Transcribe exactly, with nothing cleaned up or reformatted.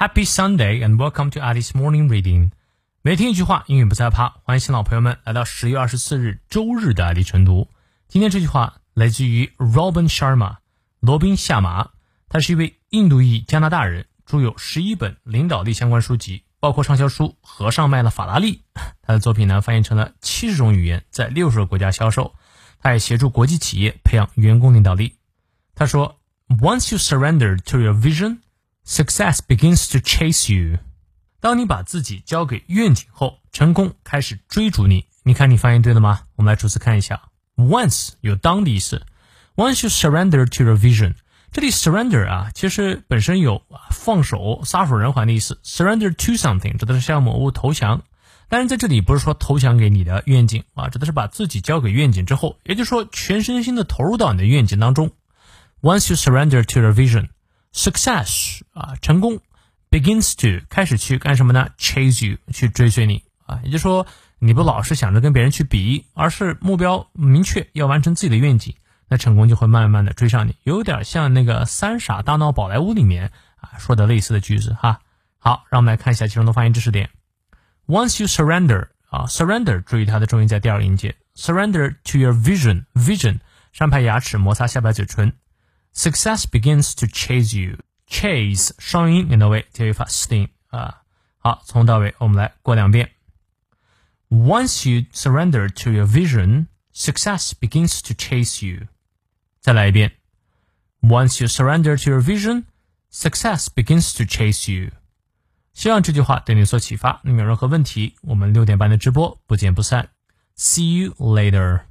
Happy Sunday and welcome to Alice Morning Reading。每天一句话，英语不再怕。欢迎新老朋友们来到十月二十四日周日的爱丽晨读。今天这句话来自于 Robin Sharma， 罗宾夏马，他是一位印度裔加拿大人，著有十一本领导力相关书籍，包括畅销书《和尚卖了法拉利》。他的作品呢翻译成了七十种语言，在六十个国家销售。他也协助国际企业培养员工领导力。他说 Once you surrender to your vision, success begins to chase you。 当你把自己交给愿景后，成功开始追逐你。你看你发音对了吗？我们来逐词看一下。 Once 有当的意思， Once you surrender to your vision， 这里 surrender 啊，其实本身有放手撒手人寰的意思。 Surrender to something 指的是向某物投降，但是在这里不是说投降给你的愿景啊，指的是把自己交给愿景之后，也就是说全身心的投入到你的愿景当中。 Once you surrender to your vision, success 啊，成功 begins to 开始去干什么呢？ chase you 去追随你啊，也就是说你不老是想着跟别人去比，而是目标明确要完成自己的愿景，那成功就会慢慢的追上你，有点像那个三傻大闹宝莱坞里面啊说的类似的句子哈。好，让我们来看一下其中的发音知识点。Once you surrender 啊 surrender 注意它的重音在第二个音节， surrender to your vision vision 上排牙齿摩擦下排嘴唇。 Success begins to chase you chase 双音连到位，结尾发 sting 啊。好，从到尾我们来过两遍。 Once you surrender to your vision, success begins to chase you。 再来一遍。 Once you surrender to your vision, success begins to chase you。希望这句话对你有所启发。你有任何问题，我们六点半的直播不见不散。See you later.